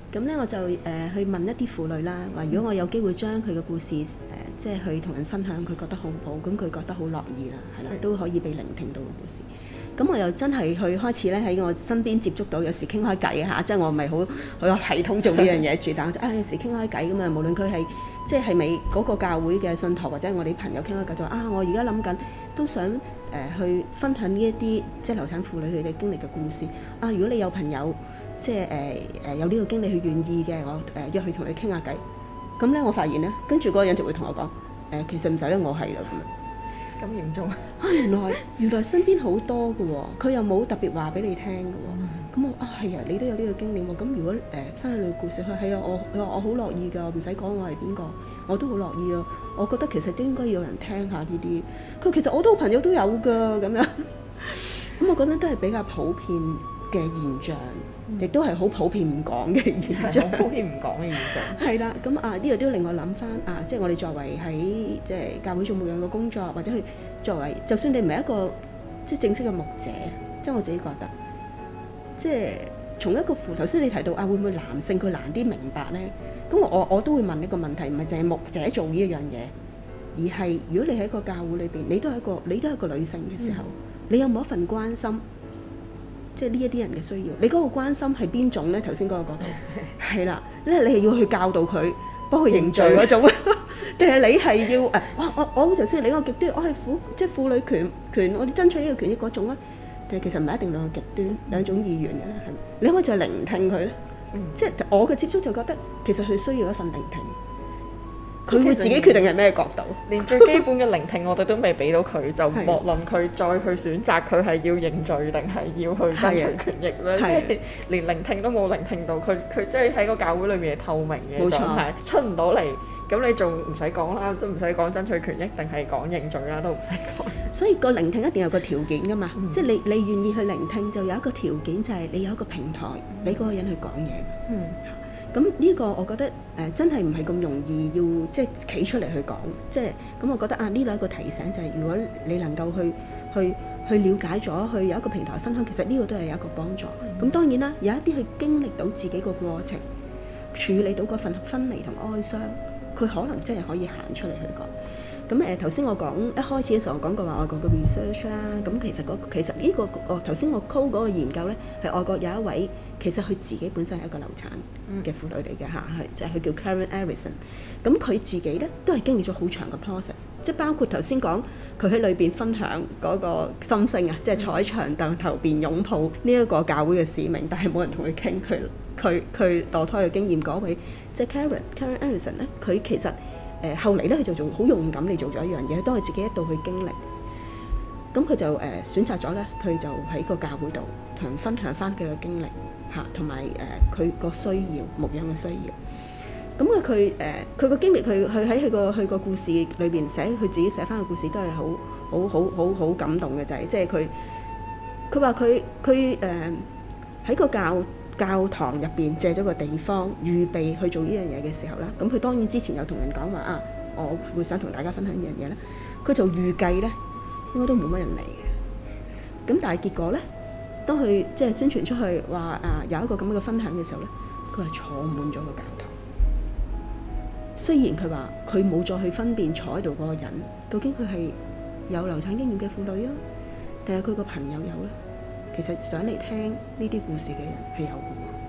咁咧我就去問一啲婦女啦，話如果我有機會將佢嘅故事即係去同人分享，佢覺得好唔好？咁佢覺得好樂意啦，係啦，都可以被聆聽到嘅故事。咁我又真係去開始咧喺我身邊接觸到，有時傾開偈嚇，即係我唔係好有系統做呢樣嘢住，但我就有時傾開偈咁啊，無論佢係即係咪嗰個教會嘅信徒或者我哋朋友傾開偈就話我而家諗緊都想去分享呢一啲即係流產婦女佢哋經歷嘅故事啊，如果你有朋友即係有呢個經歷佢願意嘅，我約佢同你傾下偈。咁咧我發現咧，跟住嗰個人就會同我講其實唔使啦，我係啦咁樣。 咁嚴重原來身邊好多嘅喎，佢又冇特別話俾你聽嘅喎。咁我係啊，你都有呢個經驗喎。咁如果分享你嘅故事，佢係啊，我好樂意㗎，唔使講我係邊個，我都好樂意啊。我覺得其實都應該要有人聽下呢啲。佢其實我都朋友都有㗎咁樣。咁我覺得都係比較普遍嘅現象，亦都係好普遍唔講嘅現象。 好普遍唔講嘅現象。 係啦，咁呢個都令我諗翻即係我哋作為喺即係教會做牧養嘅工作，或者去作為，就算你唔係一個即係正式嘅牧者，即係我自己覺得，即係從一個頭先你提到會唔會男性佢難啲明白咧？咁我都會問一個問題，唔係淨係牧者做呢一樣嘢，而係如果你喺一個教會裏邊，你都係一個女性嘅時候，你有冇一份關心？即係呢一啲人嘅需要，你嗰個關心係邊種咧？頭先嗰個角度係啦，因為你係要去教導佢，幫佢認罪嗰種，定係你係要我就算你個極端，我係即係婦女權，我哋爭取呢個權益嗰種咧，定係其實唔係一定兩個極端兩種意願嘅咧？係咪？你可唔可以就係聆聽佢咧？即係我嘅接觸就覺得其實佢需要一份聆聽。佢會自己決定係咩角度， 連最基本嘅聆聽我哋都未俾到佢，就莫論佢再去選擇佢係要認罪定係要去爭取權益咧，即係連聆聽都冇聆聽到，佢即係喺個教會裏面係透明嘅狀態，出唔到嚟，咁你仲唔使講啦，都唔使講爭取權益定係講認罪啦，都唔使講。 所以個聆聽一定有個條件㗎嘛，即係你願意去聆聽，就有一個條件就係你有一個平台俾嗰個人去講嘢。咁呢個我覺得真係唔係咁容易要即係企出嚟去講，即係咁我覺得呢度一個提醒就係，如果你能夠去了解咗，去有一個平台分享，其實呢個都係有一個幫助。咁當然啦，有一啲去經歷到自己個過程，處理到嗰份分離同哀傷，佢可能真係可以行出嚟去講。咁頭先我講一開始嘅時候，我講過話外國嘅 research 啦，咁其實呢個頭先我 call 嗰個研究咧，係外國有一位其實佢自己本身係一個流產嘅婦女嚟嘅嚇，係即係佢叫 Karen Arison。咁佢自己咧都係經歷咗好長嘅 process，即係包括頭先講佢喺裏邊分享嗰個心聲啊，即係坐喺長凳頭邊擁抱呢一個教會嘅使命，但係冇人同佢傾佢墮胎嘅經驗嗰位，即係 Karen Arison 咧，佢其實後嚟咧佢就做好勇敢地做咗一樣嘢，當佢自己一度去經歷，咁佢就選擇咗咧，佢就喺個教會度同人分享翻佢嘅經歷嚇，同埋佢個需要牧養嘅需要。咁佢個經歷，佢喺佢個故事裏邊寫，佢自己寫翻個故事都係好感動嘅，就係即係佢話佢喺個教堂入邊借咗個地方預備去做呢樣嘢嘅時候啦，咁佢當然之前有同人講話我會想同大家分享呢樣嘢咧，佢就預計咧應該都冇乜人嚟嘅，咁但係結果咧，當佢即係宣傳出去話有一個咁樣嘅分享嘅時候咧，佢係坐滿咗個教堂。雖然佢話佢冇再去分辨坐喺度嗰個人究竟佢係有流產經驗嘅婦女啊，定係佢個朋友有咧？其實想嚟聽呢啲故事嘅人係有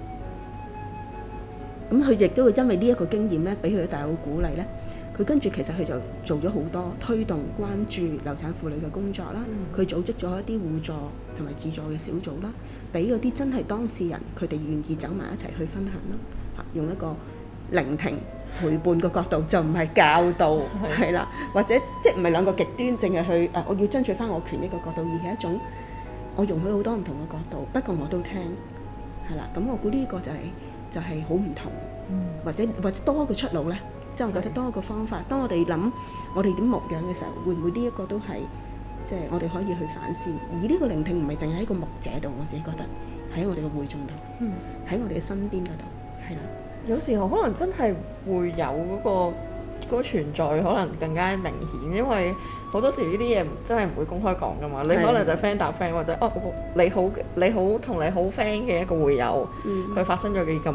嘅喎。咁佢亦都會因為呢一個經驗咧，俾佢大好鼓勵咧。佢跟住其實佢就做咗好多推動關注流產婦女嘅工作啦。佢組織咗一啲互助同埋自助嘅小組啦，俾嗰啲真係當事人佢哋願意走埋一齊去分享啦。用一個聆聽陪伴嘅角度，就唔係教導係啦，或者即係唔係兩個極端，淨係去我要爭取翻我權益嘅角度，而係一種我容許好多唔同嘅角度，不過我都聽係啦。咁我估呢個就係好唔同，或者多一個出路咧。即係我覺得多一個方法。當我哋諗我哋點牧養嘅時候，會唔會呢一個都係即係我哋可以去反思？而呢個聆聽唔係淨係喺個牧者度，我自己覺得喺我哋嘅會眾度，喺我哋嘅身邊嗰度係啦。 有時候可能真係會有嗰個存在，可能更加明顯，因為好多時呢啲嘢真係唔會公開講㗎嘛。你可能就 friend 搭 friend，或者你好同你好 friend 嘅一個會友，佢發生咗嘅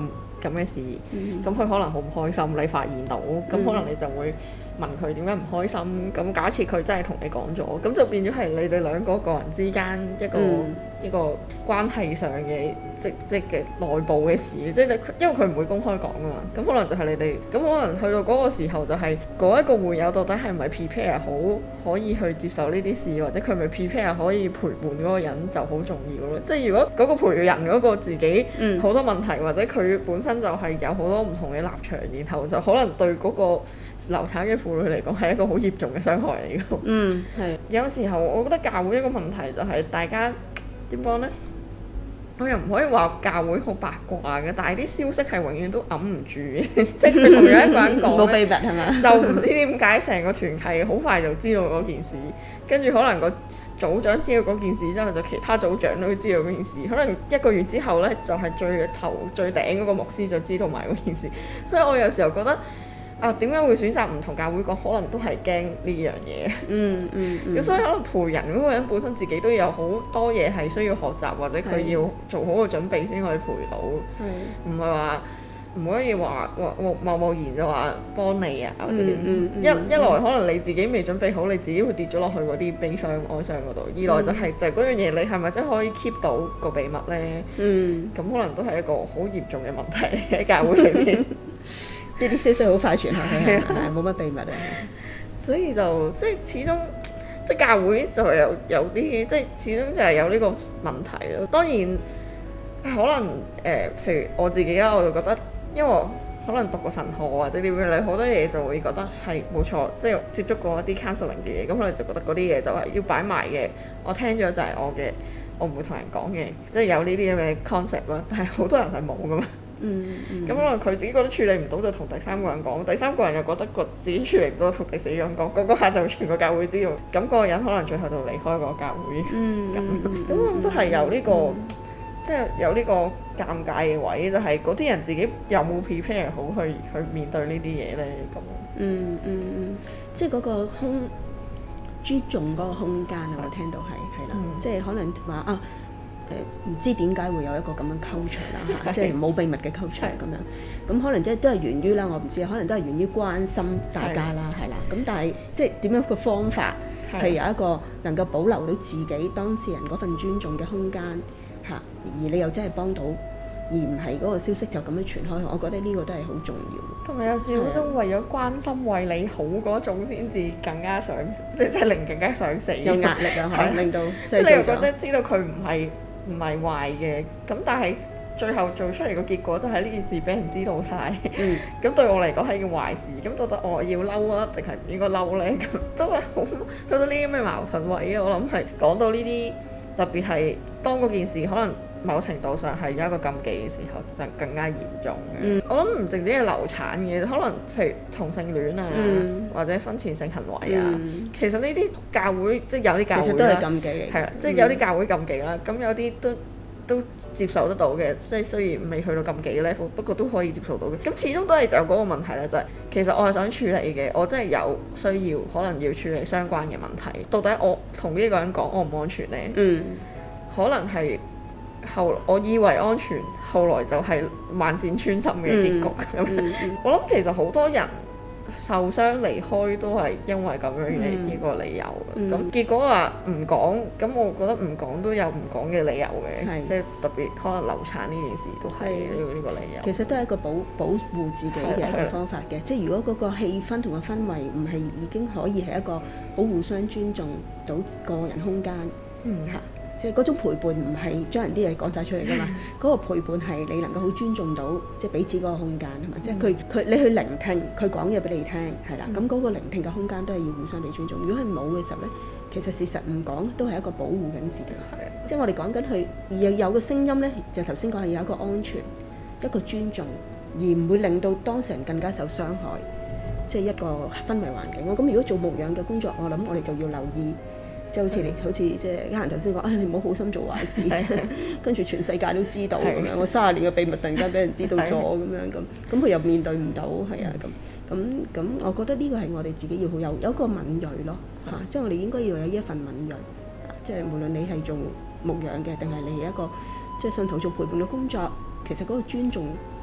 咁嘅事，咁佢可能好唔開心，你發現到，咁可能你就會問佢點解唔開心，咁假設佢真係同你講咗，咁就變咗係你哋兩個人之間一個關係上嘅即嘅內部嘅事，即係你因為佢唔會公開講㗎嘛，咁可能就係你哋，咁可能去到嗰個時候就係嗰一個會友到底係咪 prepare 好可以去接受呢啲事，或者佢咪 prepare 可以陪伴嗰個人就好重要咯。即係如果嗰個陪人嗰個自己好多問題，或者佢本身就係有好多唔同嘅立場，然後就可能對嗰個流產嘅婦女嚟講係一個好嚴重嘅傷害嚟㗎。係。有時候我覺得教會一個問題就係大家點講呢？我又唔可以話教會好八卦嘅，但係啲消息係永遠都揞唔住嘅，即係佢同樣一個人講冇秘密係嘛？ 就唔知點解成個團契好快就知道嗰件事，跟住可能個組長知道嗰件事之後，就其他組長都知道嗰件事，可能1個月之後呢，就係最頂嗰個牧師就知道埋嗰件事，所以我有時候覺得。點解會選擇唔同教會講？可能都係驚呢樣嘢。咁所以可能陪人嗰個人本身自己都有好多嘢係需要學習，或者佢要做好個準備先可以陪到。唔係話唔可以話貿然就話幫你啊或者點。一來可能你自己未準備好，你自己會跌咗落去嗰啲悲傷哀傷嗰度；二來就係嗰樣嘢，你係咪真係可以 keep 到個秘密呢？咁可能都係一個好嚴重嘅問題喺教會裏面。 即係啲消息好快傳下去，係冇乜秘密啊。 所以始終即係教會就係有啲即係始終就係有呢個問題咯。當然可能譬如我自己啦，我就覺得因為我可能讀過神學或者點樣，你好多嘢就會覺得係冇錯，即係接觸過一啲 counseling 嘅嘢，咁可能就覺得嗰啲嘢就係要擺埋嘅。我聽咗就係我嘅，我唔會同人講嘅，即係有呢啲咁嘅 concept 啦。但係好多人係冇㗎嘛。咁可能佢自己覺得處理唔到就同第三個人講，第三個人又覺得自己處理唔到同第四個人講，嗰下就全個教會知道，咁嗰個人可能最後就離開個教會。咁都係有呢個即係有呢個尷尬嘅位，就係嗰啲人自己有冇 prepare 好去面對呢啲嘢呢？咁。 即係嗰個尊重嗰個空間啊！我聽到係啦，即係可能話唔知點解會有一個咁樣 culture 啦，即係冇秘密嘅 culture 咁樣。咁可能即係都係源於啦，我唔知，可能都係源於關心大家啦，係啦。咁但係即係點樣個方法係有一個能夠保留到自己當事人嗰份尊重嘅空間嚇，而你又真係幫到，而唔係嗰個消息就咁樣傳開去。我覺得呢個都係好重要。 同埋有時好種為咗關心為你好嗰種先至更加想，即係令更加想死。 有壓力啊，令到即係你又覺得知道佢唔係壞嘅，咁但係最後做出嚟個結果就係呢件事俾人知道晒。咁對我嚟講係件壞事，咁到底我要嬲啊，定係唔應該嬲呢？咁都係好到呢啲咁嘅矛盾位啊！我諗係講到呢啲，特別係當嗰件事可能某程度上係有一個禁忌嘅時候，就更加嚴重嘅。我諗唔淨止係流產嘅，可能譬如同性戀啊，或者婚前性行為啊，其實呢啲教會即係有啲教會啦， 其實都係禁忌嚟。 係啦，即係有啲教會禁忌啦，咁有啲都接受得到嘅，即係雖然未去到禁忌嘅 level，不過都可以接受到嘅。咁始終都係有嗰個問題啦，就係其實我係想處理嘅，我真係有需要，可能要處理相關嘅問題。到底我同呢個人講安唔安全呢？可能係我以為安全，後來就係萬箭穿心嘅結局。我諗其實好多人受傷離開都係因為咁樣嘅一個理由。咁結果話唔講，咁我覺得唔講都有唔講嘅理由嘅，即係特別可能流產呢件事都係呢個理由。 其實都係一個保護自己嘅一個方法嘅，即係如果嗰個氣氛同個氛圍唔係已經可以係一個好互相尊重到個人空間嚇。即係嗰種陪伴唔係將人啲嘢講晒出嚟㗎嘛，嗰個陪伴係你能夠好尊重到即係彼此嗰個空間係嘛，即係佢你去聆聽佢講嘢俾你聽係啦，咁嗰個聆聽嘅空間都係要互相地尊重。如果係冇嘅時候咧，其實事實唔講都係一個保護緊自己。即係我哋講緊佢有個聲音咧，就頭先講係有一個安全、一個尊重，而唔會令到當事人更加受傷害，即係一個氛圍環境。咁如果做牧養嘅工作，我諗我哋就要留意。即係好似即係家人頭先講，你唔好好心做壞事，跟住全世界都知道咁樣，我30年嘅秘密突然間俾人知道咗咁樣咁佢又面對唔到，係啊咁，我覺得呢個係我哋自己要好有一個敏鋭咯嚇，即係我哋應該要有一份敏鋭，即係無論你係做牧養嘅，定係你係一個即係信徒做陪伴嘅工作，其實嗰個尊重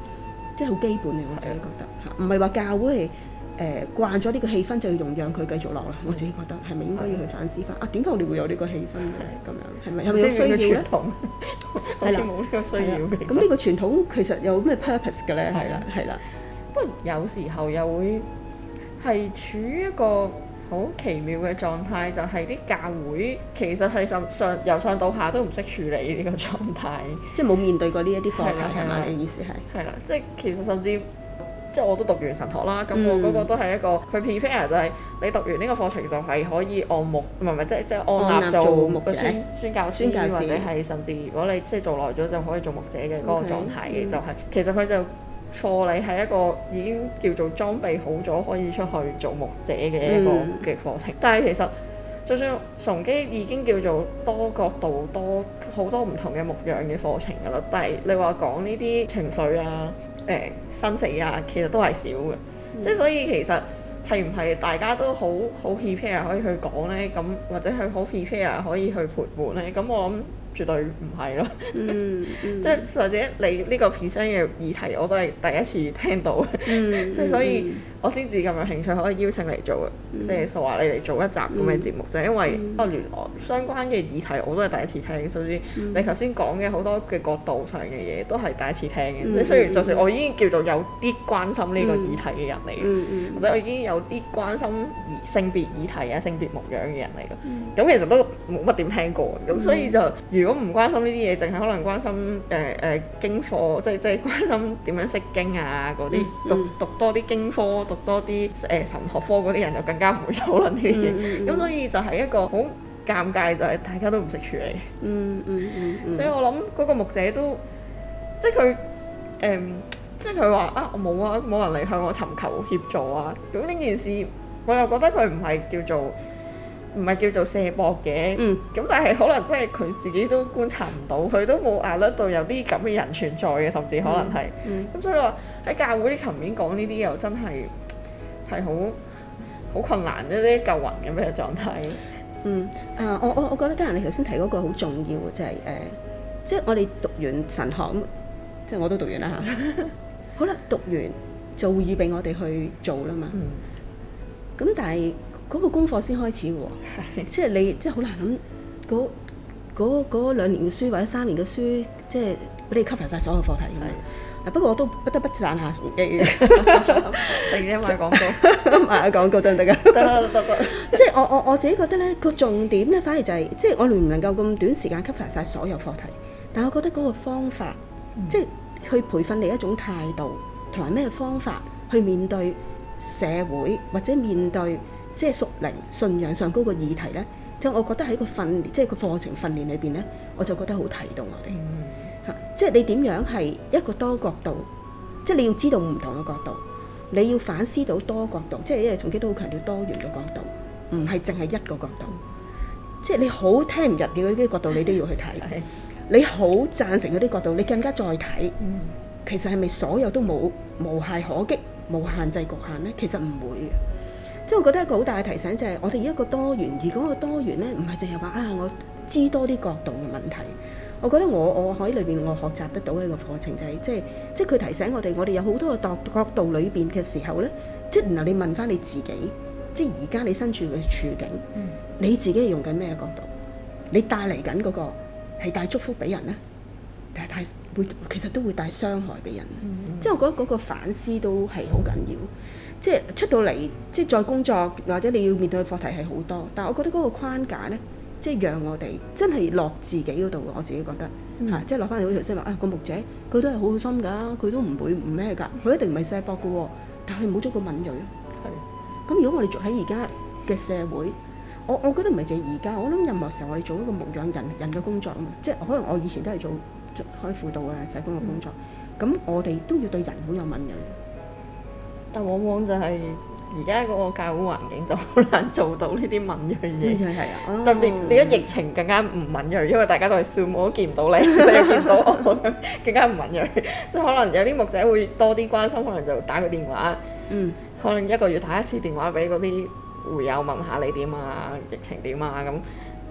即係好基本嘅，我自己覺得嚇，唔係話教會係慣咗呢個氣氛就要容讓佢繼續落啦。我自己覺得係咪應該要去反思翻啊？點解我哋會有呢個氣氛嘅咁樣？係咪有需要咧？ 好似冇呢個需要嘅。 咁呢個傳統其實有咩 purpose 嘅咧？係啦。 不過有時候又會係處於一個好奇妙嘅狀態，就係啲教會其實係由上到下都唔識處理呢個狀態， 即係冇面對過呢一啲課題係嘛？你意思係？ 係啦，即係其實甚至即係我都讀完神學啦，咁我嗰個都係一個佢 prepare 就係你讀完呢個課程就係可以按牧，唔係即係按立做牧者、宣教師或者係甚至如果你即係做耐咗就可以做牧者嘅嗰個狀態嘅，就係其實佢就課你係一個已經叫做裝備好咗可以出去做牧者嘅一個嘅課程，但係其實就算崇基已經叫做多角度好多唔同嘅牧養嘅課程㗎啦，但係你話講呢啲情緒啊、生死啊，其實都係少嘅，即係所以其實係唔係大家都好 prepare 可以去講咧？咁或者係好 prepare 可以去陪伴咧？咁我諗絕對唔係咯。即係或者你呢個 present 嘅議題我都係第一次聽到，即係所以我先至咁有興趣可以邀請嚟做，即係話你嚟做一集咁嘅節目，就係因為原來相關嘅議題我都係第一次聽，甚至你頭先講嘅好多嘅角度上嘅嘢都係第一次聽嘅。即係雖然就算我已經叫做有啲關心呢個議題嘅人嚟嘅，或者我已經有啲關心性別議題啊、性別牧養嘅人嚟嘅，咁其實都冇乜點聽過，咁所以就如果唔關心呢啲嘢，淨係可能關心經課，即係關心點樣識經啊嗰啲，讀多啲經科，讀多啲神學科嗰啲人就更加唔會討論呢啲嘢，咁所以就係一個好尷尬，就係大家都唔識處理。所以我諗嗰個牧者都即係佢即係佢話啊，我冇啊，冇人嚟向我尋求協助啊，咁呢件事我又覺得佢唔係叫做卸膊嘅，咁但係可能真係佢自己都觀察唔到，佢都冇壓得到有啲咁嘅人存在嘅，甚至可能係，咁所以話喺教會啲層面講呢啲又真係好困難一啲救魂咁嘅狀態。 我覺得嘉仁你頭先提嗰個好重要嘅就係即係我哋讀完神學咁，即係我都讀完啦嚇。好啦，讀完就會預備我哋去做啦嘛。咁但係嗰個功課先開始嘅喎，即係你即係好難諗嗰2年嘅書或者3年嘅書，即係俾你 cover 晒所有課題咁樣。不過我都不得不讚下崇基嘅。 突然間賣廣告， 賣廣告得唔得㗎？得。即係我自己覺得咧，個重點咧反而就係即係我哋唔能夠咁短時間 cover 晒所有課題，但係我覺得嗰個方法，即係去培訓你一種態度同埋咩方法去面對社會或者面對即係屬靈信仰上嗰個議題咧，即係我覺得喺個訓練即係個課程訓練裏邊咧，我就覺得好提到我哋嚇，即係你點樣係一個多角度，即係你要知道唔同嘅角度，你要反思到多角度，即係因為崇基都好強調多元嘅角度，唔係淨係一個角度，即係你好聽唔入嘅嗰啲角度你都要去睇，你好贊成嗰啲角度你更加再睇，其實係咪所有都冇無懈可擊、冇限制局限咧？其實唔會嘅。即係我覺得一個好大嘅提醒就係我哋一個多元，而嗰個多元咧唔係淨係話啊我知多啲角度嘅問題。我覺得我喺裏邊我學習得到嘅一個課程就係即係佢提醒我哋有好多個角度裏邊嘅時候咧，即係然後你問翻你自己，即係而家你身處嘅處境，你自己係用緊咩角度？你帶嚟緊嗰個係帶祝福俾人咧，但係其實都會帶傷害俾人。即係我覺得嗰個反思都係好緊要。即係出到嚟，即係再工作或者你要面對嘅課題係好多，但係我覺得嗰個框架咧，即係讓我哋真係落自己嗰度。我自己覺得即係落翻嚟好似頭先話個牧者，佢都係好好心㗎，佢都唔會唔咩㗎，佢一定唔係卸膊嘅喎，但係冇咗個敏鋭。咁如果我哋做喺而家嘅社會，我覺得唔係淨係而家，我諗任何時候我哋做一個牧養人嘅工作啊嘛，即係可能我以前都係做開輔導啊社工嘅工作，咁我哋都要對人好有敏鋭。 但往往就係而家嗰個教會環境就好難做到呢啲敏鋭嘢，特別你一疫情更加唔敏鋭，因為大家都係Zoom，我都見唔到你，你又見唔到我，更加唔敏鋭。即係可能有啲牧者會多啲關心，可能就打個電話，可能1個月打1次電話俾嗰啲會友問下你點啊，疫情點啊咁。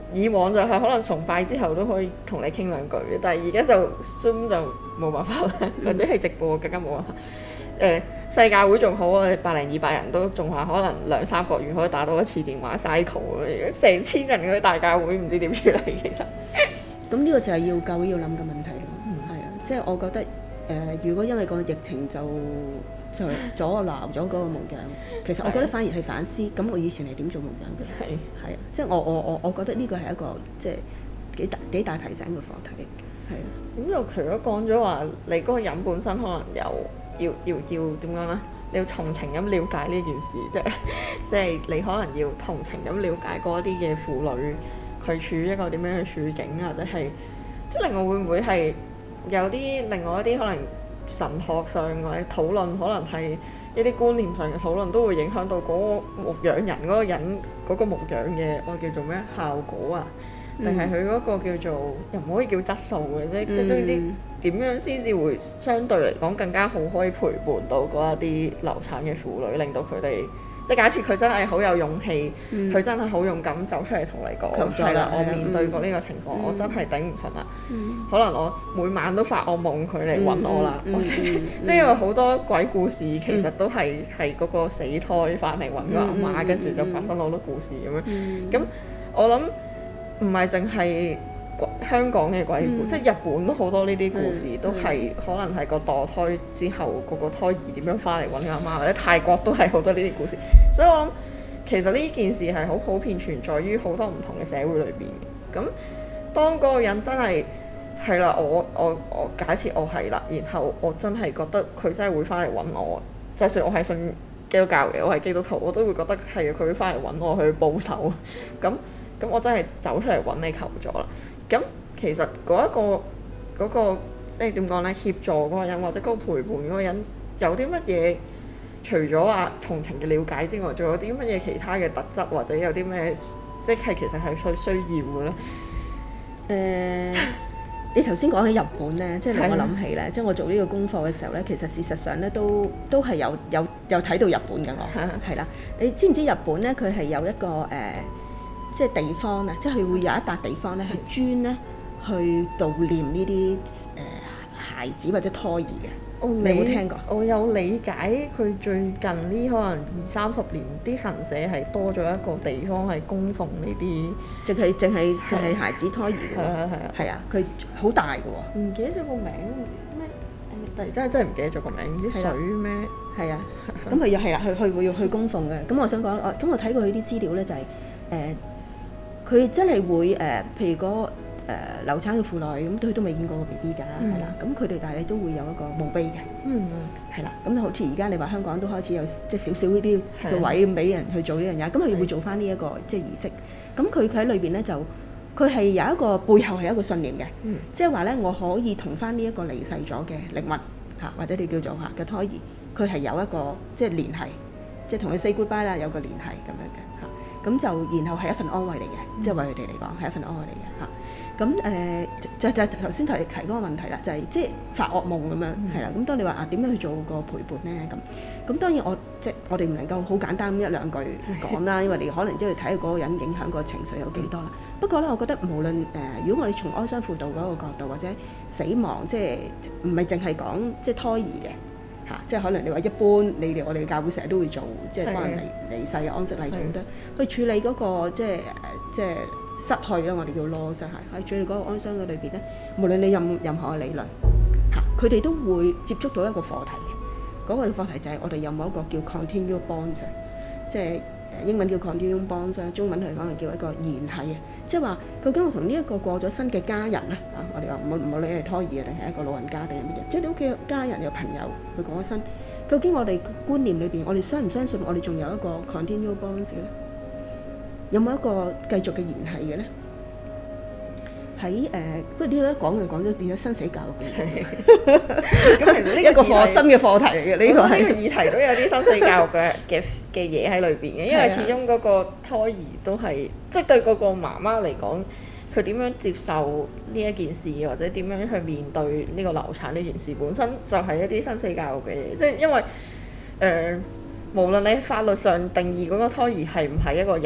以往就係可能崇拜之後都可以同你傾兩句嘅，但係而家就 Zoom 就冇辦法啦，或者係直播更加冇辦法。細教會仲好啊，100-200人都仲話可能2-3個月可以打到一次電話 cycle， 成千人嗰啲大教會唔知點處理其實。 咁呢個就係要教會要諗嘅問題咯。係啊，即係我覺得如果因為個疫情就阻撓咗嗰個牧養，其實我覺得反而係反思，咁我以前係點做牧養嘅？係啊，即係我覺得呢個係一個即係幾大提醒嘅課題。係啊。 咁就除咗講咗話，你嗰個人本身可能有要點講咧？你要同情咁了解呢件事，即係你可能要同情咁了解嗰一啲嘅婦女，佢處於一個點樣嘅處境，或者係即係另外會唔會係有啲另外一啲可能神學上或者討論，可能係一啲觀念上嘅討論，都會影響到嗰個牧養人嗰個人嗰個牧養嘅我叫做咩效果啊？定係佢嗰個叫做又唔可以叫質素嘅啫，即係總之點樣先至會相對嚟講更加好，可以陪伴到嗰一啲流產嘅婦女，令到佢哋即係假設佢真係好有勇氣，佢真係好勇敢走出嚟同你講，係啦，我面對過呢個情況，我真係頂唔順啦，可能我每晚都發惡夢佢嚟揾我啦，即係因為好多鬼故事其實都係嗰個死胎翻嚟揾個阿媽，跟住就發生好多故事咁樣，咁我諗。唔係淨係香港嘅鬼故，即係日本都好多呢啲故事，都係可能係個墮胎之後，個胎兒點樣翻嚟揾阿媽，或者泰國都係好多呢啲故事。所以我諗其實呢件事係好普遍存在於好多唔同嘅社會裏邊嘅。咁當嗰個人真係啦，我假設我係啦，然後我真係覺得佢真係會翻嚟揾我，就算我係信基督教嘅，我係基督徒，我都會覺得係佢會翻嚟揾我去報仇。咁我真係走出嚟揾你求助啦。咁其實嗰個即係點講呢？協助嗰個人或者嗰個陪伴嗰個人有啲乜嘢？除咗話同情嘅了解之外，仲有啲乜嘢其他嘅特質，或者有啲咩即係其實係需要嘅呢？ 你頭先講起日本呢，即係令我諗起呢，即係我做呢個功課嘅時候呢，其實事實上呢都係有睇到日本嘅我係啦。你知唔知日本呢？佢係有一個即係地方啊，即係佢會有一笪地方咧，係專咧去悼念呢啲孩子或者胎兒嘅。你有冇聽過？ 我有理解，佢最近呢可能20-30年，啲神社係多咗一個地方係供奉呢啲， 淨係孩子胎兒嘅。係啊，佢好大嘅喎。 唔記得咗個名咩？突然真係唔記得咗個名，唔知水咩？ 係啊，咁佢又係啦，佢會要去供奉嘅。咁我想講，咁我睇過佢啲資料咧，就係佢真係會譬如嗰流產嘅婦女，咁佢都未見過個 BB 㗎，係啦，咁佢哋但係都會有一個墓碑嘅，係啦，咁好似而家你話香港都開始有即係少少呢啲嘅位咁俾人去做呢樣嘢，咁佢會做翻呢一個即係儀式，咁佢喺裏邊咧就佢係有一個背後係有一個信念嘅，即係話咧我可以同翻呢一個離世咗嘅靈魂嚇，或者你叫做嘅胎兒，佢係有一個即係聯繫，即係同佢 say goodbye 啦，有個聯繫咁樣嘅。咁就然後係一份安慰嚟嘅，即係為佢哋嚟講係一份安慰嚟嘅嚇。咁就頭先提嗰個問題啦，就係即係發惡夢咁樣係啦。咁當你話點樣去做個陪伴咧咁當然我哋唔能夠好簡單一兩句講啦，因為你可能都要睇下嗰個人影響個情緒有幾多啦。不過咧，我覺得無論如果我哋從哀傷輔導嗰個角度或者死亡，即係唔係淨係講即係胎兒嘅。即係可能你話一般，我哋教會成日都會做，即係幫人離世嘅安息禮做得，去處理嗰個即係失去啦，我哋叫 loss 喺處理嗰個哀傷嘅裏邊咧，無論你任何嘅理論佢哋都會接觸到一個課題嘅，嗰個課題就係我哋有冇一個叫 continual bonds， 即係英文叫 continual bonds， 中文嚟講係叫一個聯繫啊，即係話究竟我同呢一個過咗身嘅家人咧我哋話唔好理係胎兒啊定係一個老人家定係乜嘢，即係你屋企嘅家人有朋友佢過咗身，究竟我哋觀念裏邊我哋相唔相信我哋仲有一個 continual bonds 咧？有冇一個繼續嘅聯繫嘅咧？喺不過呢個一講就講咗變咗生死教育咁其實呢一個新嘅課題嚟嘅，呢個議題都有啲生死教育嘅嘢喺裏邊嘅，因為始終嗰個胎兒都係即係對嗰個媽媽嚟講，佢點樣接受呢一件事，或者點樣去面對呢個流產呢件事，本身就係一啲生死教育嘅嘢，即係因為無論你法律上定義嗰個胎兒係唔係一個人，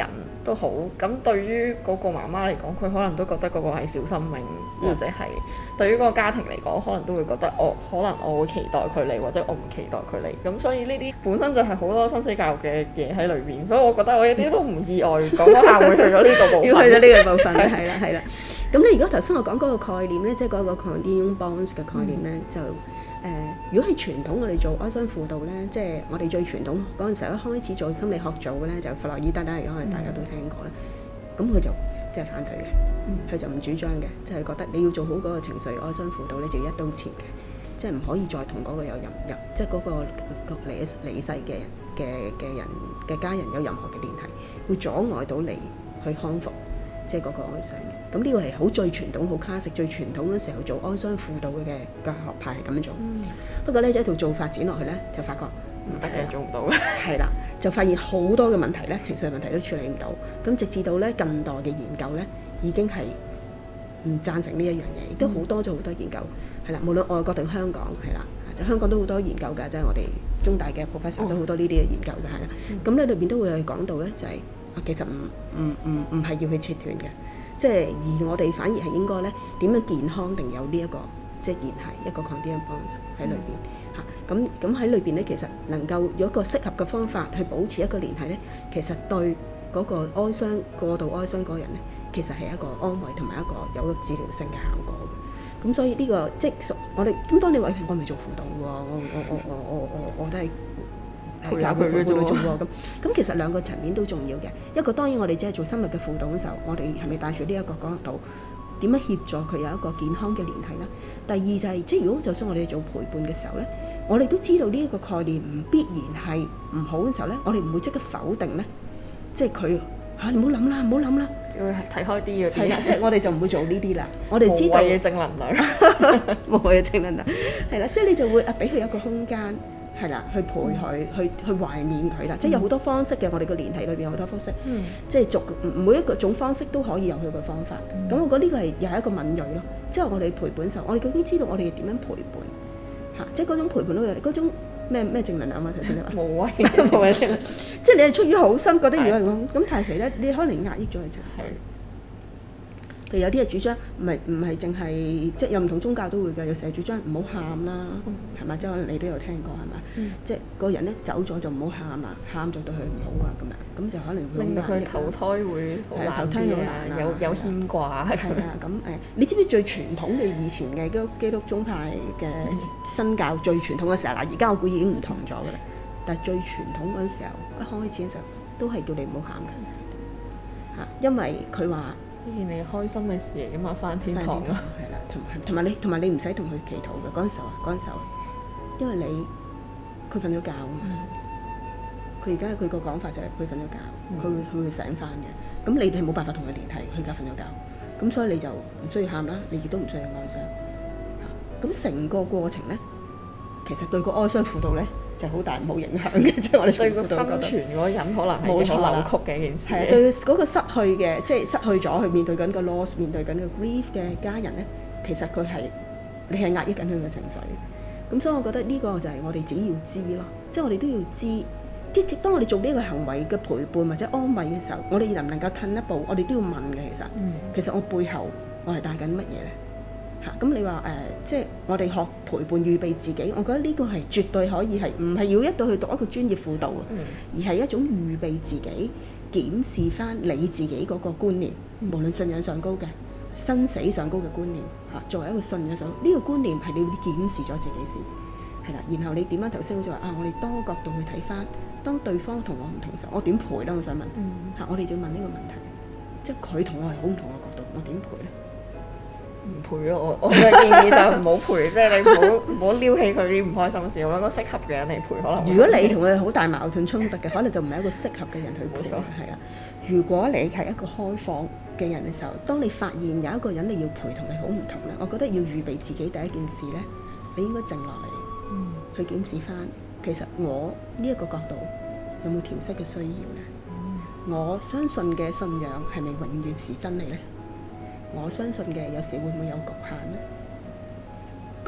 都好。咁對於嗰個媽媽嚟講，佢可能都覺得嗰個係小生命，或者係對於嗰個家庭嚟講，可能都會覺得可能我會期待佢嚟，或者我唔期待佢嚟。咁所以呢啲本身就係好多生死教育嘅嘢喺裏邊，所以我覺得我一啲都唔意外講嗰下會去咗呢個部分。 要去咗呢個部分，係啦係啦。咁你如果頭先我講嗰個概念咧，即係嗰個 continuum bonds 嘅概念咧，就如果係傳統我哋做哀傷輔導咧，即係我哋最傳統嗰陣時候一開始做心理學做嘅咧，就弗洛伊德啦，可能大家都聽過啦。咁佢就即係反對嘅，佢就唔主張嘅，就係覺得你要做好嗰個情緒哀傷輔導咧，就要一刀切嘅，即係唔可以再同嗰個有即係嗰個離世嘅人嘅家人有任何嘅聯繫，會阻礙到你去康復。即係嗰個哀傷嘅，咁呢個係好最傳統、好 classic 最傳統嗰時候做哀傷輔導嘅學派係咁樣做。不過咧，一套做發展落去咧，就發覺唔得嘅， 做唔到嘅。 係啦，就發現好多嘅問題咧，情緒問題都處理唔到。咁直至到咧近代嘅研究咧，已經係唔贊成呢一樣嘢，亦都好多咗好多研究係啦，無論外國定香港係啦，就香港都好多研究㗎，即係我哋中大嘅 professor 都好多呢啲嘅研究嘅係啦。咁咧裏邊都會係講到咧，就係。其實唔係要去切斷嘅，即係而我哋反而係應該咧點樣健康定有呢一個即係聯繫一個 continuum bonds 喺裏邊嚇。咁喺裏邊咧，其實能夠有一個適合嘅方法去保持一個聯繫咧，其實對嗰個哀傷過度哀傷嗰個人咧，其實係一個安慰同埋一個有一個治療性嘅效果嘅。咁所以呢個即係我哋咁當你話我未做輔導喎，我都係。 陪下佢嘅啫喎， 咁其實兩個層面都重要嘅。一個當然我哋只係做深入嘅輔導嘅時候，我哋係咪帶住呢一個角度，點樣協助佢有一個健康嘅聯繫咧？第二就係即係如果就算我哋做陪伴嘅時候咧，我哋都知道呢一個概念唔必然係唔好嘅時候咧，我哋唔會即刻否定咧，即係佢你唔好諗啦，唔好諗啦， 叫佢睇開啲嗰啲。 係啦，即係我哋就唔會做呢啲啦。我哋知道無謂嘅正能量， 無謂嘅正能量，係啦，即係你就會俾佢一個空間。係啦，去陪佢，去懷緬佢啦，即係有好多方式嘅。我哋個聯繫裏邊有好多方式，即係每一個種方式都可以有佢個方法。咁我覺得呢個係又係一個敏鋭咯。即係我哋陪伴時候，我哋究竟知道我哋點樣陪伴嚇？即係嗰種陪伴都有嗰種咩正能量啊？頭先你話無謂無謂正能量，即係你係出於好心覺得如果係咁，但係其實你可能壓抑咗佢情緒。譬如有啲係主張唔係淨係即係有唔同宗教都會嘅，有時係主張唔好喊啦，係咪？即係可能你都有聽過係咪？即係個人咧走咗就唔好喊啦，喊就對佢唔好啊咁樣，咁就可能會令到佢投胎會好難啲啊，有牽掛係啊咁你知唔知最傳統嘅以前嘅基督宗派嘅新教最傳統嘅時候嗱，而家我估已經唔同咗㗎啦，但係最傳統嗰陣時候一開始嘅時候都係叫你唔好喊㗎嚇，因為佢話。 呢件你開心嘅事嚟㗎嘛，返天堂啊， 係啦，同埋你唔使同佢祈禱嘅嗰陣時候，因為佢瞓咗覺啊嘛，佢而家佢個講法就係佢瞓咗覺，佢會醒返嘅，咁你哋係冇辦法同佢聯繫，佢而家瞓咗覺，咁所以你就唔需要喊啦，你亦都唔需要哀傷，咁成個過程咧，其實對個哀傷輔導咧。就好大冇影響嘅，即係我哋對個生存嗰個人可能係好扭曲嘅一件事。 係對嗰個失去嘅，即係失去咗去面對緊個 loss， 面對緊個 grief 嘅家人咧，其實你係壓抑緊佢嘅情緒。咁所以我覺得呢個就係我哋自己要知咯，即係我哋都要知。當我哋做呢個行為嘅陪伴或者安慰嘅時候，我哋能唔能夠褪一步？我哋都要問嘅其實我背後我係帶緊乜嘢咧？咁你話即係我哋學陪伴預備自己，我覺得呢個係絕對可以係，唔係要一到去讀一個專業輔導，而係一種預備自己檢視翻你自己嗰個觀念，無論信仰上高嘅、生死上高嘅觀念作為一個信仰上呢個觀念係你要檢視咗自己先，係啦，然後你點樣頭先好似話我哋多角度去睇翻，當對方同我唔同時候，我點陪咧？我想問我哋就要問呢個問題，即係佢同我係好唔同嘅角度，我點陪咧？ 唔陪咯，我嘅建議就唔好陪，即係你唔好撩起佢啲唔開心事，我覺得適合嘅人嚟陪可能。 如果你同佢好大矛盾衝突嘅，可能就唔係一個適合嘅人去陪，係啦。如果你係一個開放嘅人嘅時候，當你發現有一個人你要陪同你好唔同咧，我覺得要預備自己第一件事咧，你應該靜落嚟，去檢視翻，其實我呢一個角度有冇調適嘅需要咧？我相信嘅信仰係咪永遠是真理咧？我相信嘅有時會唔會有局限咧？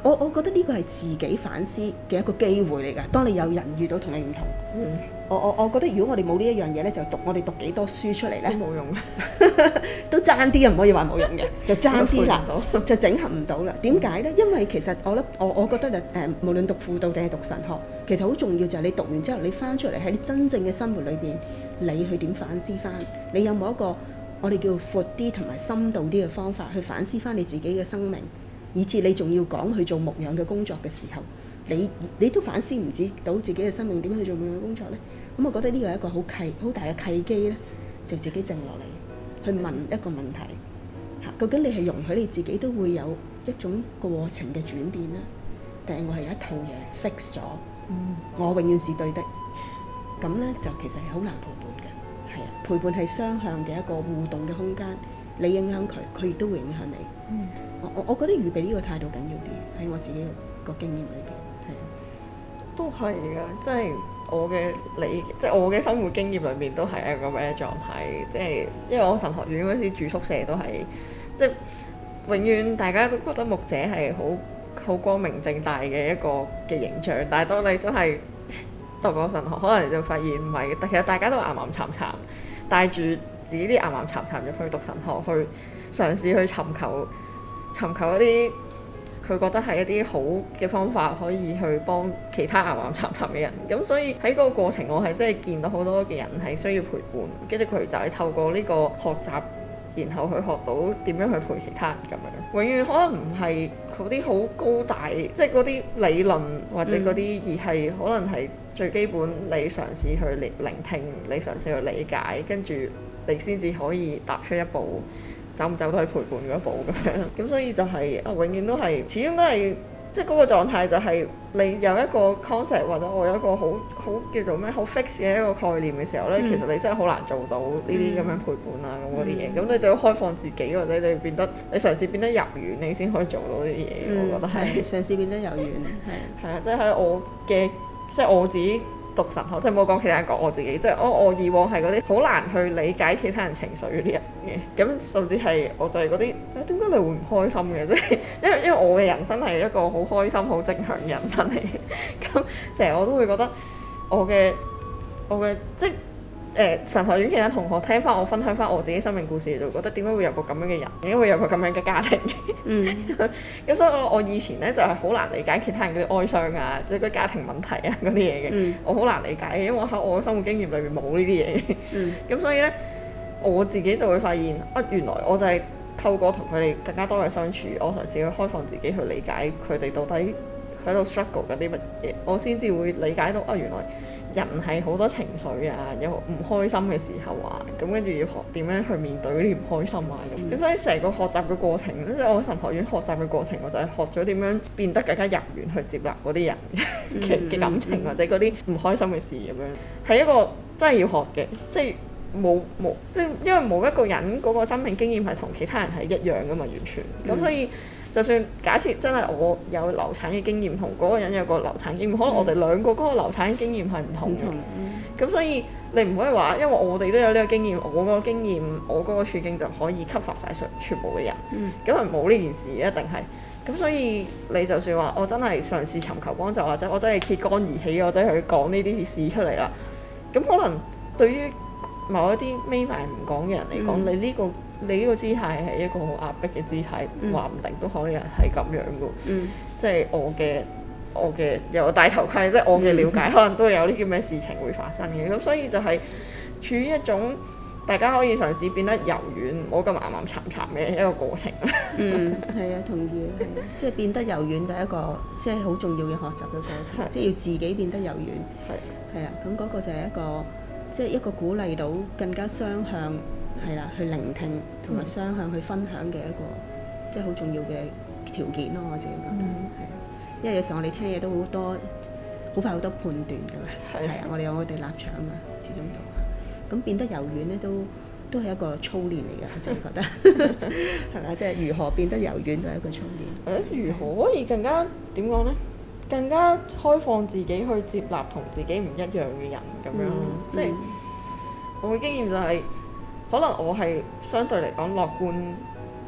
我覺得呢個係自己反思嘅一個機會嚟㗎。當你有人遇到同你唔同，我覺得如果我哋冇呢一樣嘢咧，就我哋讀幾多書出嚟咧， 都冇用嘅， 都爭啲啊，唔可以話冇用嘅，就爭啲啦，就整合唔到啦。點解咧？因為其實我覺得無論讀輔導定係讀神學，其實好重要就係你讀完之後，你翻出嚟喺你真正嘅生活裏邊，你去點反思翻？你有冇一個我哋叫闊啲同埋深度啲嘅方法去反思翻你自己嘅生命？以至你仲要講去做牧養嘅工作嘅時候，你都反思唔知到自己嘅生命點樣去做牧養工作呢？咁我覺得呢個係一個好大嘅契機呢，就自己靜落嚟去問一個問題嚇，究竟你係容許你自己都會有一種過程嘅轉變呢？定係我係有一套嘢 fix 咗，我永遠是對的？咁呢就其實係好難陪伴嘅，係啊，陪伴係雙向嘅一個互動嘅空間，你影響佢，佢亦都會影響你。我覺得預備呢個態度緊要啲，喺我自己個經驗裏邊，係啊， 都係㗎，即係即係我嘅生活經驗裏面都係一個咁嘅狀態，即係因為我神學院嗰時住宿舍都係，即係永遠大家都覺得牧者係好光明正大嘅一個嘅形象，但係當你真係讀過神學，可能就發現唔係，其實大家都岩岩巉巉，帶住自己啲岩岩巉巉入去讀神學，去嘗試去尋求一啲佢覺得係一啲好嘅方法，可以去幫其他岩岩巉巉嘅人。咁所以喺嗰個過程，我係真係見到好多嘅人係需要陪伴，跟住佢就係透過呢個學習，然後去學到點樣去陪其他人咁樣。永遠可能唔係嗰啲好高大，即係嗰啲理論或者嗰啲，而係可能係最基本，你嘗試去聆聽，你嘗試去理解，跟住你先至可以踏出一步。走唔走都係陪伴嗰一步咁樣，咁所以就係永遠都係，始終都係即係嗰個狀態就係你有一個 concept 或者我有一個好叫做咩好 fix 嘅一個概念嘅時候咧，其實你真係好難做到呢啲咁樣陪伴啊咁嗰啲嘢，咁你就要開放自己或者你嘗試變得柔軟，你先可以做到呢啲嘢，我覺得係嘗試變得柔軟， 係啊，即係喺即係我自己。讀神學，即係冇講其他人講我自己，即係我以往係嗰啲好難去理解其他人情緒嗰啲人嘅，咁甚至係我就係嗰啲點解你會唔開心嘅？即係因為我嘅人生係一個好開心、好正向嘅人生嚟嘅，咁成日我都會覺得我嘅即係神學院其他同學聽翻我分享翻我自己生命故事，就覺得點解會有個咁樣嘅人，點解會有個咁樣嘅家庭嘅？咁所以我以前咧就係好難理解其他人嗰啲哀傷啊，即係嗰啲家庭問題啊嗰啲嘢嘅，我好難理解嘅，因為我喺我嘅生活經驗裏面冇呢啲嘢嘅。咁所以咧我自己就會發現原來我就係透過同佢哋更加多嘅相處，我嘗試去開放自己去理解佢哋到底喺度 struggle 緊啲乜嘢，我先至會理解到原來人係好多情緒啊，有唔開心嘅時候啊，咁跟住要學點樣去面對嗰啲唔開心啊咁。所以成個學習嘅過程，即係我喺神學院學習嘅過程，我就係學咗點樣變得更加柔軟去接納嗰啲人嘅感情或者嗰啲唔開心嘅事咁樣，係一個真係要學嘅，即係即係因為冇一個人嗰個生命經驗係同其他人係一樣㗎嘛，完全。咁所以就算假設真係我有流產嘅經驗，同嗰個人有個流產經驗，可能我哋兩個嗰個流產經驗係唔同嘅。咁所以你唔可以話，因為我哋都有呢個經驗，我嗰個經驗，我嗰個處境就可以 cover 晒全部嘅人。咁係冇呢件事一定係。咁所以你就算話我真係嘗試尋求幫助，或者我真係揭竿而起，我真係去講呢啲事出嚟啦。咁可能對於某一啲眯埋唔講嘅人嚟講，你呢個姿態係一個好壓迫嘅姿態，話唔定都可以係咁樣嘅。即係我嘅有戴頭盔，即係我嘅了解，可能都有啲咁嘅事情會發生嘅。咁所以就係處於一種大家可以嘗試變得柔軟，唔好咁岩岩巉巉嘅一個過程。 係啊，同意，係啊，即係變得柔軟就係一個即係好重要嘅學習嘅過程，即係要自己變得柔軟。係啊，咁嗰個就係一個即係一個鼓勵到更加雙向係啦，去聆聽同埋雙向去分享嘅一個即係好重要嘅條件咯，我自己覺得係啊，因為有時候我哋聽嘢都好多，好快好多判斷㗎嘛，係啊，我哋有我哋立場啊嘛，始終都咁變得柔軟咧都係一個操練嚟㗎，我真係覺得係咪？即係如何變得柔軟都係一個操練。 如何可以更加點講咧？更加開放自己去接納同自己唔一樣嘅人咁樣咯。即係我嘅經驗就係，可能我係相對嚟講樂觀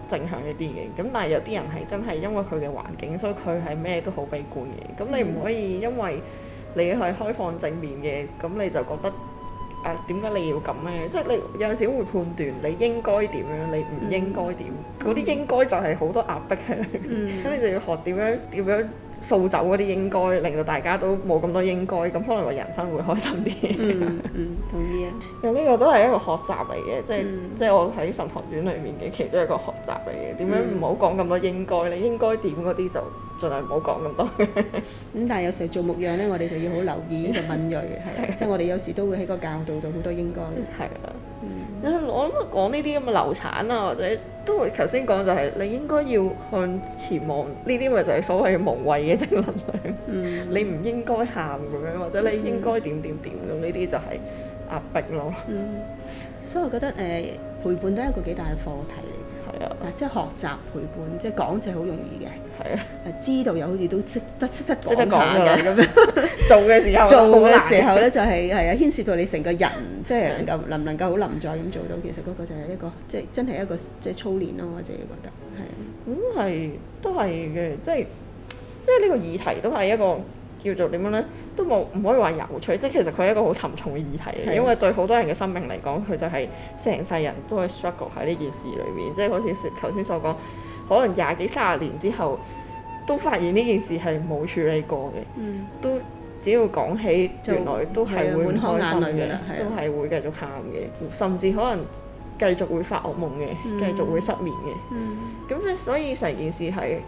正向一啲嘅。咁但係有啲人係真係因為佢嘅環境，所以佢係咩都好悲觀嘅。咁你唔可以因為你係開放正面嘅，咁你就覺得點解你要咁咧？即係你有陣時會判斷你應該點樣，你唔應該點。嗰啲應該就係好多壓迫喺裏面。咁你就要學點樣掃走嗰啲應該，令到大家都冇咁多應該，咁可能個人生會開心啲。 同意啊。 咁呢個都係一個學習嚟嘅，即係我喺神學院裏面嘅其中一個學習嚟嘅。點樣唔好講咁多應該，你應該點嗰啲就盡量唔好講咁多。 咁但係有時候做牧養咧，我哋就要好留意呢個敏鋭，係即係我哋有時都會喺個教導度好多應該。 係啊。我諗講呢啲咁嘅流產啊，或者都會頭先講就係你應該要向前望，呢啲咪就係所謂無謂嘅正能量。你唔應該喊咁樣，或者你應該點點點咁，呢啲就係壓迫咯。 所以我覺得陪伴都係一個幾大嘅課題嚟嘅。 係啊。 即係學習陪伴，即係講就係好容易嘅。 係啊。 知道又好似都識得講下嘅咁樣。 做嘅時候咧就係牽涉到你成個人，即係能唔能夠好臨在咁做到，其實嗰個就係一個即係真係一個即係操練咯，我自己覺得係。 咁係都係嘅，即係呢個議題都係一個叫做點樣咧，都唔可以話有趣，即係其實佢係一個好沉重嘅議題，因為對好多人嘅生命嚟講，佢就係成世人都係 struggle 喺呢件事裏面，即係好似頭先所講，可能20幾30年之後都發現呢件事係冇處理過嘅，都只要講起原來都係會唔開心嘅，都係會繼續喊嘅，甚至可能繼續會發噩夢嘅，繼續會失眠嘅。咁即係所以成件事係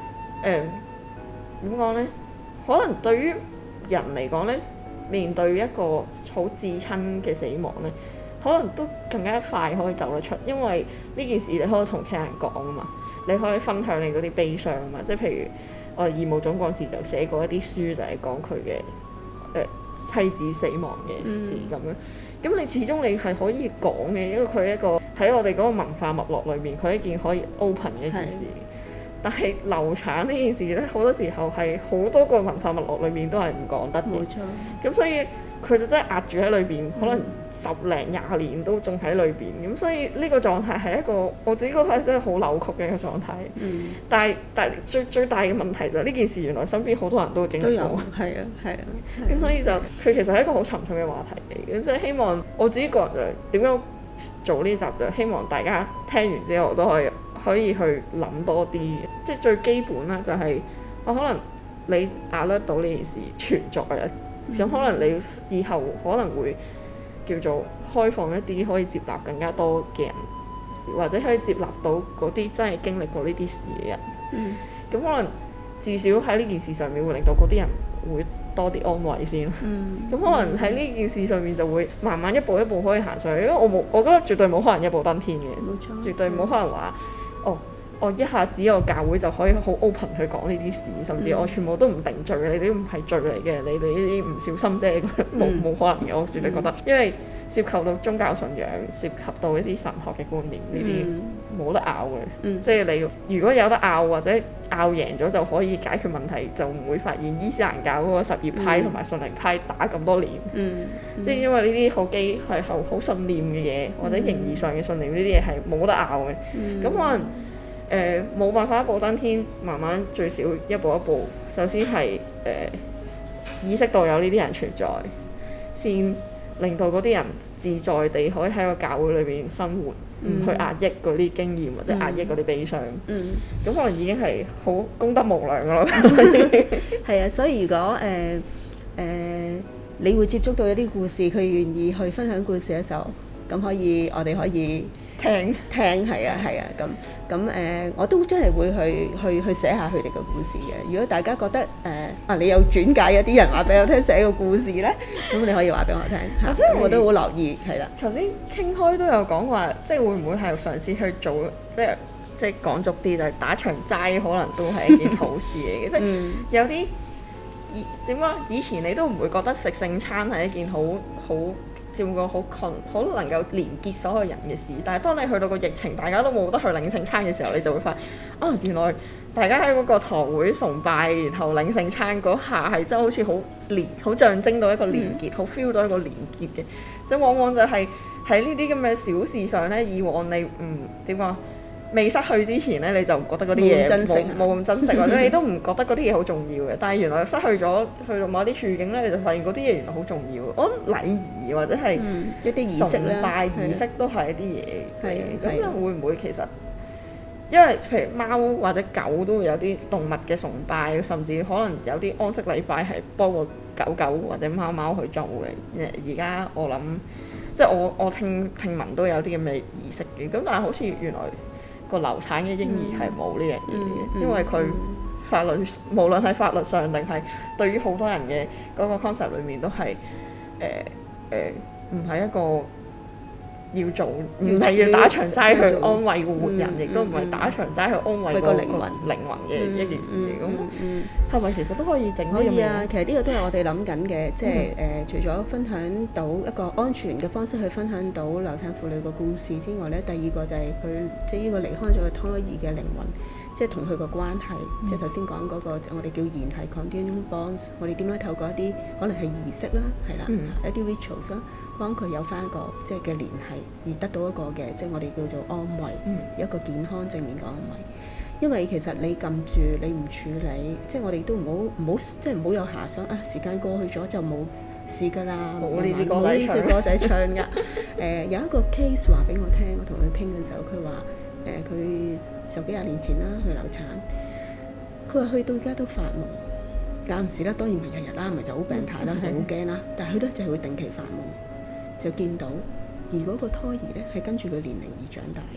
點講咧？可能對於人嚟講咧，面對一個好至親嘅死亡咧，可能都更加快可以走得出，因為呢件事你可以同其他人講啊嘛，你可以分享你嗰啲悲傷啊嘛，即係譬如我哋義務總幹事就寫過一啲書，就係講佢嘅妻子死亡嘅事咁樣。咁你始終你係可以講嘅，因為佢係一個喺我哋嗰個文化脈絡裏面，佢係一件可以 open 嘅一件事。但係流產呢件事咧，好多時候係好多個文化脈絡裏面都係唔講得嘅。冇錯。咁所以佢就真係壓住喺裏邊，可能10零20年都仲喺裏邊。咁所以呢個狀態係一個我自己覺得係真係好扭曲嘅一個狀態。但係最大嘅問題就係呢件事原來身邊好多人都會經歷過。都有。係啊。咁所以就佢其實係一個好沉重嘅話題嚟嘅，即係希望我自己個人就點樣做呢集，就希望大家聽完之後都可以去諗多啲，即係最基本啦，就係可能你壓得到呢件事存在啊，咁可能你以後可能會叫做開放一啲，可以接納更加多嘅人，或者可以接納到嗰啲真係經歷過呢啲事嘅人。咁可能至少喺呢件事上面會令到嗰啲人會多啲安慰先。咁可能喺呢件事上面就會慢慢一步一步可以行上去，因為我覺得絕對冇可能一步登天嘅。冇錯。絕對冇可能話我一下子個教會就可以好 open 去講呢啲事，甚至我全部都唔定罪，你哋都唔係罪嚟嘅，你呢啲唔小心啫，冇可能嘅，我絕對覺得，因為涉及到宗教信仰，涉及到一啲神學嘅觀念，呢啲冇得拗嘅。即係你如果有得拗或者拗贏咗就可以解決問題，就唔會發現伊斯蘭教嗰個什葉派同埋遜尼派打咁多年。即係因為呢啲係好信念嘅嘢，或者形而上嘅信念，呢啲嘢係冇得拗嘅。咁可能冇辦法一步登天，慢慢最少一步一步，首先係意識到有呢啲人存在，先令到嗰啲人自在地可以喺個教會裏邊生活，唔去壓抑嗰啲經驗或者壓抑嗰啲悲傷。咁可能已經係好功德無量㗎咯。 係啊，所以如果你會接觸到一啲故事，佢願意去分享故事嘅時候，咁我哋可以聽係啊，咁我都真係會去寫下佢哋嘅故事嘅。如果大家覺得你有轉介一啲人話俾我聽寫個故事咧，咁你可以話俾我聽嚇，我都好留意係啦。 頭先傾開都有講話，即係會唔會係嘗試去做，即係講俗啲就係打場齋，可能都係一件好事嚟嘅。即係有啲點講，以前你都唔會覺得食聖餐係一件好點講好能夠連結所有人嘅事，但係當你去到個疫情，大家都冇得去領聖餐嘅時候，你就會發現原來大家喺嗰個堂會崇拜，然後領聖餐嗰下係真係好似好象徵到一個連結，好 feel 到一個連結嘅。即係往往就係喺呢啲咁嘅小事上咧，以往你點講未失去之前咧，你就覺得嗰啲嘢冇咁珍惜，或者你都唔覺得嗰啲嘢好重要嘅。但係原來失去咗，去到某啲處境咧，你就發現嗰啲嘢原來好重要。我諗禮儀或者係一啲儀式啦， 崇拜儀式都係一啲嘢嘅。咁就會唔會其實？因為譬如貓或者狗都會有啲動物嘅崇拜，甚至可能有啲安息禮拜係幫個狗狗或者貓貓去做嘅。而家我諗，即係我聽聞都有啲咁嘅儀式嘅。咁但係好似原來個流產嘅嬰兒係冇呢樣嘢嘅，因為佢法律無論係法律上定係對於好多人嘅嗰個 concept 裏面都係唔係一個。要做唔係要打長齋去安慰個活人，亦都唔係打長齋去安慰個靈魂嘅一件事嚟。咁係咪其實都可以整啲咁嘅？ 可以啊，其實呢個都係我哋諗緊嘅，即係除咗分享到一個安全嘅方式去分享到流產婦女個故事之外咧，第二個就係佢即係呢個離開咗嘅胎兒嘅靈魂，即係同佢個關係，即係頭先講嗰個我哋叫聯繫 continuum bonds， 我哋點樣透過一啲可能係儀式啦，係啦，一啲 rituals 啦，幫佢有翻一個即係嘅聯繫，而得到一個嘅即係我哋叫做安慰，一個健康正面嘅安慰。因為其實你撳住你唔處理，即係我哋都唔好即係唔好有遐想啊！時間過去咗就冇事㗎啦， 冇呢隻歌仔唱㗎。有一個 case 話俾我聽，我同佢傾嘅時候，佢話佢十幾廿年前啦去流產，佢話去到而家都發夢，間唔時啦，當然唔係日日啦，唔係就好病態啦，就好驚啦。但係佢咧就係會定期發夢，就見到而嗰個胎兒咧係跟住佢年齡而長大。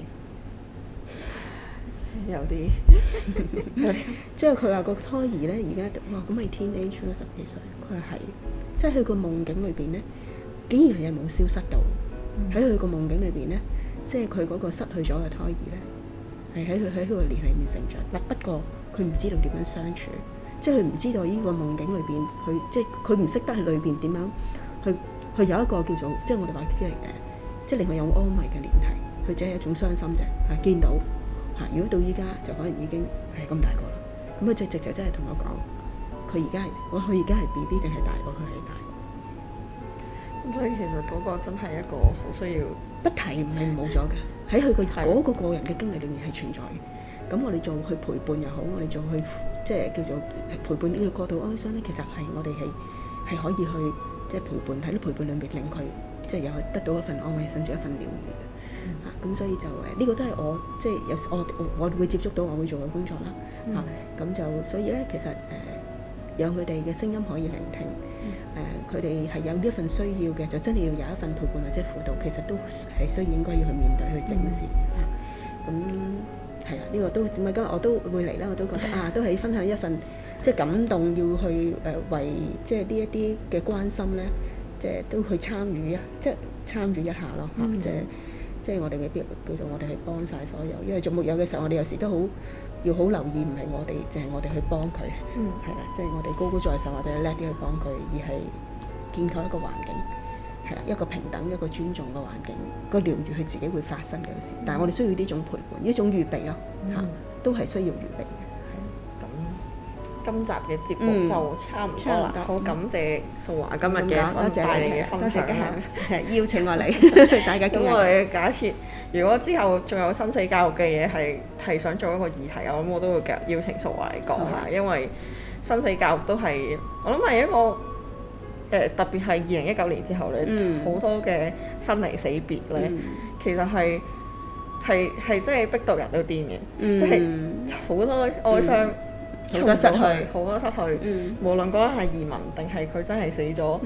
有啲， 即係佢話個胎兒咧，而家哇咁係 teenage 啦，十幾歲。佢話係，即係佢個夢境裏邊咧，竟然係冇消失到。喺佢個夢境裏邊咧，即係佢嗰個失去咗嘅胎兒咧，係喺佢個年裏面成長。不過佢唔知道點樣相處，即係佢唔知道呢個夢境裏邊，佢即係佢唔識得喺裏邊點樣去有一個叫做即係我哋話即係令佢有安慰嘅聯繫。佢只係一種傷心啫，係見到。如果到依家就可能已經係咁大個啦，咁佢直就真係同我講，佢而家係 BB 定係大過佢係大個。 咁所以其實嗰個真係一個好需要不提唔係冇咗嘅，喺佢嗰個人嘅經歷裏面係存在嘅。咁我哋做去陪伴又好，我哋做去即係叫做陪伴呢個過度哀傷咧，其實係我哋係可以去即係陪伴喺啲陪伴裏面令佢即係有得到一份安慰，甚至一份療愈嘅。咁所以就呢個都係我即係有時我會接觸到我會做嘅工作啦。咁就所以咧，其實讓佢哋嘅聲音可以聆聽，佢哋係有呢一份需要嘅，就真係要有一份陪伴或者輔導，其實都係需要應該要去面對去正視。咁係啦，呢個都點解今日我都會嚟啦？我都覺得都係分享一份即係感動，要去為即係呢一啲嘅關心咧，即係都去參與即係參與一下咯。即係我哋未必叫做我哋去幫晒所有，因為做木有嘅時候，我哋有時都要好留意，唔係我哋淨係我哋去幫佢，係啦，即係我哋高高在上或者叻啲去幫佢，而係建構一個環境，係啦，一個平等一個尊重嘅環境，個療愈佢自己會發生嘅事，但係我哋需要呢種陪伴，呢種預備咯，都係需要預備嘅。 今集嘅節目就差唔多啦，好感謝素華今日嘅帶嚟嘅分享啦， 邀請我嚟，大家咁我哋假設如果之後仲有生死教育嘅嘢係想做一個議題，我都會邀請素華嚟講下，因為生死教育都係我諗係一個特別係2019年之後咧，好多嘅生離死別咧，其實係真係逼到人都癲嘅，即係好多哀傷。好多失去，無論嗰個係移民定係佢真係死咗，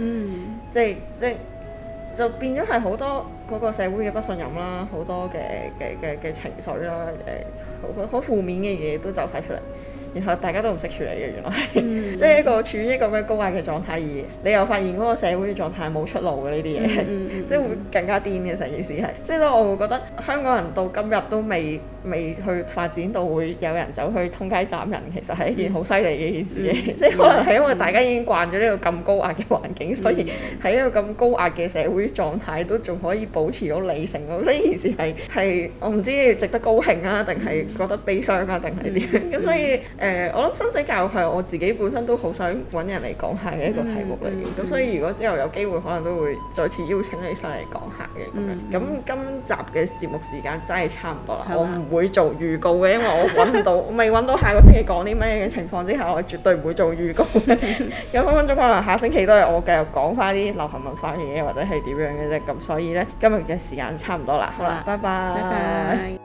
就變咗係好多嗰個社會嘅不信任啦，好多嘅情緒啦，好負面嘅嘢都走晒出嚟，然後大家都唔識處理嘅，原來係即係一個處於一個咁嘅高壓嘅狀態，而你又發現嗰個社會嘅狀態冇出路嘅呢啲嘢，即係會更加癲嘅成件事係，即係我會覺得香港人到今日都未去發展到會有人走去通街斬人，其實係一件好犀利嘅一件事嘅，即係可能係因為大家已經慣咗呢個咁高壓嘅環境，所以喺一個咁高壓嘅社會狀態都仲可以保持到理性咯。呢件事係我唔知值得高興啊，定係覺得悲傷啊，定係點？咁所以我諗生死教育係我自己本身都好想揾人嚟講下嘅一個題目嚟嘅，咁所以如果之後有機會，可能都會再次邀請你上嚟講下嘅咁樣。咁今集嘅節目時間真係差唔多啦，我唔會做預告嘅，因為我揾唔到，未揾到下個星期講啲咩嘅情況之下，我絕對唔會做預告嘅。有分分鐘可能下星期都係我繼續講翻啲流行文化嘅嘢，或者係點樣嘅啫。咁所以呢，今日嘅時間差唔多啦，好啦，拜拜。